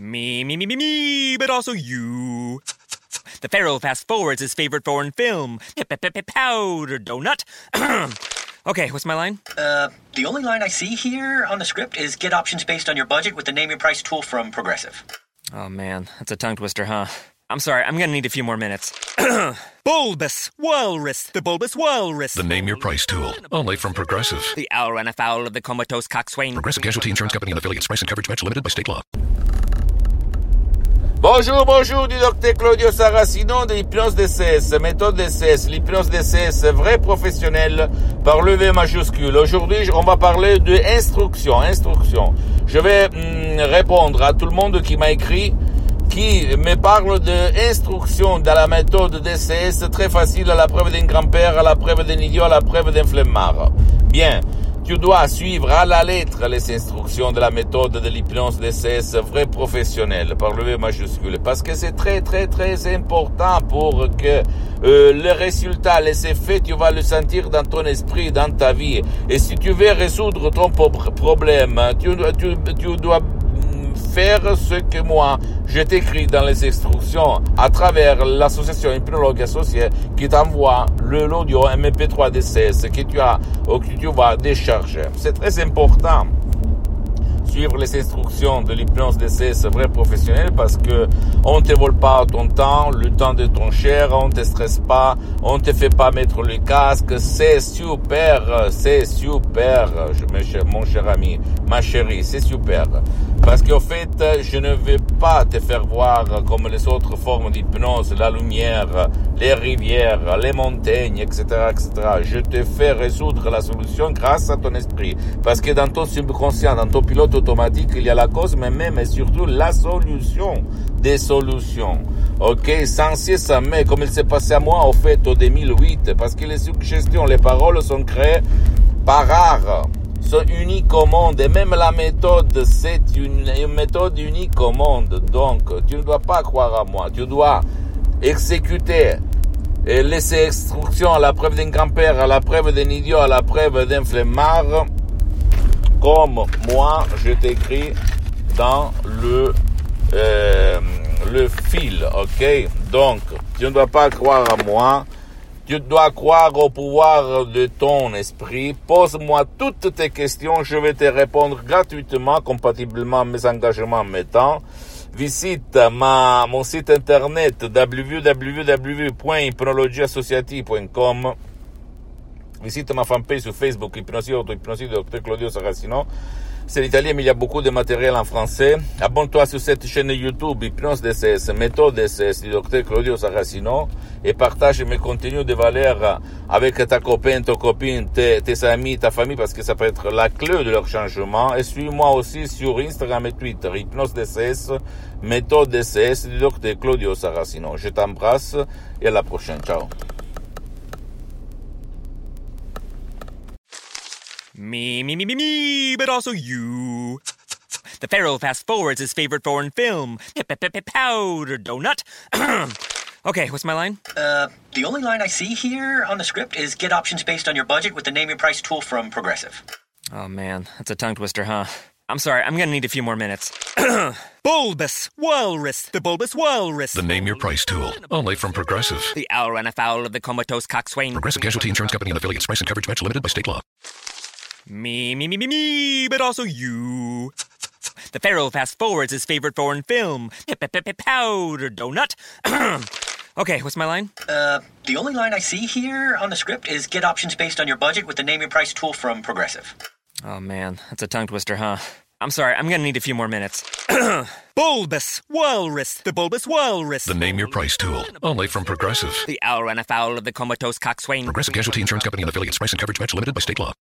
Me, but also you. The Pharaoh fast forwards his favorite foreign film, Powder Donut. Okay, what's my line? The only line I see here on the script is get options based on your budget with the Name Your Price tool from Progressive. Oh man, that's a tongue twister, huh? I'm sorry, I'm gonna need a few more minutes. Bulbous Walrus, the Bulbous Walrus. The Name Your Price tool, only from Progressive. The owl ran afoul of the comatose coxswain. Progressive Casualty Insurance Company and affiliates. Price and coverage match limited by state law. Bonjour, du docteur Claudio Saracino de l'hypnose DCS, méthode DCS, l'hypnose DCS vrai professionnel par le V majuscule. Aujourd'hui, on va parler de instruction. Je vais répondre à tout le monde qui m'a écrit, qui me parle de instruction dans la méthode DCS très facile à la preuve d'un grand-père, à la preuve d'un idiot, à la preuve d'un flemmard. Bien. Tu dois suivre à la lettre les instructions de la méthode de l'hypnose DCS vrai professionnel par le V majuscule parce que c'est très important pour que le résultat, les effets, tu vas le sentir dans ton esprit, dans ta vie. Et si tu veux résoudre ton problème, tu dois faire ce que moi je t'écris dans les instructions à travers l'association Hypnologue Associée qui t'envoie l'audio MP3 DCS que tu vas décharger. C'est très important suivre les instructions de l'hypnose DCS vrai professionnel parce que on te vole pas ton temps, le temps de ton cher, on te stresse pas, on te fait pas mettre le casque, c'est super, mon cher ami, ma chérie, c'est super. Parce qu'en fait, je ne vais pas te faire voir comme les autres formes d'hypnose, la lumière, les rivières, les montagnes, etc. Je te fais résoudre la solution grâce à ton esprit. Parce que dans ton subconscient, dans ton pilote automatique, il y a la cause, mais même et surtout la solution des solutions. Ok, sans mais comme il s'est passé à moi, au fait, au 2008, parce que les suggestions, les paroles sont créées par art. Sont uniques au monde et même la méthode c'est une méthode unique au monde. Donc tu ne dois pas croire à moi, tu dois exécuter et laisser instruction à la preuve d'un grand-père, à la preuve d'un idiot, à la preuve d'un flemmard comme moi je t'écris dans le fil, ok? Donc tu ne dois pas croire à moi. Tu dois croire au pouvoir de ton esprit. Pose-moi toutes tes questions. Je vais te répondre gratuitement, compatiblement à mes engagements, mes temps. Visite mon site internet www.hypnologieassociative.com. Visite ma fanpage sur Facebook, Hypnosie Auto-Hypnosie de Dr Claudio Saracino. C'est l'italien, mais il y a beaucoup de matériel en français. Abonne-toi sur cette chaîne YouTube, Hypnose DCS, méthode DCS du Dr Claudio Saracino et partage mes contenus de valeur avec ta copain, ton copine, tes amis, ta famille, parce que ça peut être la clé de leur changement. Et suis-moi aussi sur Instagram et Twitter, Hypnose DCS, méthode DCS du Dr Claudio Saracino. Je t'embrasse et à la prochaine. Ciao. Me, but also you. The Pharaoh fast forwards his favorite foreign film, Powder Donut. Okay, what's my line? The only line I see here on the script is get options based on your budget with the Name Your Price tool from Progressive. Oh man, that's a tongue twister, huh? I'm sorry, I'm gonna need a few more minutes. Bulbous Walrus, the Bulbous Walrus. The Name Your Price tool, only from Progressive. The owl ran afoul of the comatose coxswain. Progressive Casualty Insurance Company and affiliates. Price and coverage match limited by state law. Me, but also you. The Pharaoh fast forwards his favorite foreign film, Powder Donut. Okay, what's my line? The only line I see here on the script is get options based on your budget with the Name Your Price tool from Progressive. Oh man, that's a tongue twister, huh? I'm sorry, I'm gonna need a few more minutes. Bulbous Walrus, the Bulbous Walrus. The Name Your Price tool, only from Progressive. The owl ran afoul of the comatose coxswain. Progressive Casualty Insurance Company and affiliates. Price and coverage match limited by state law.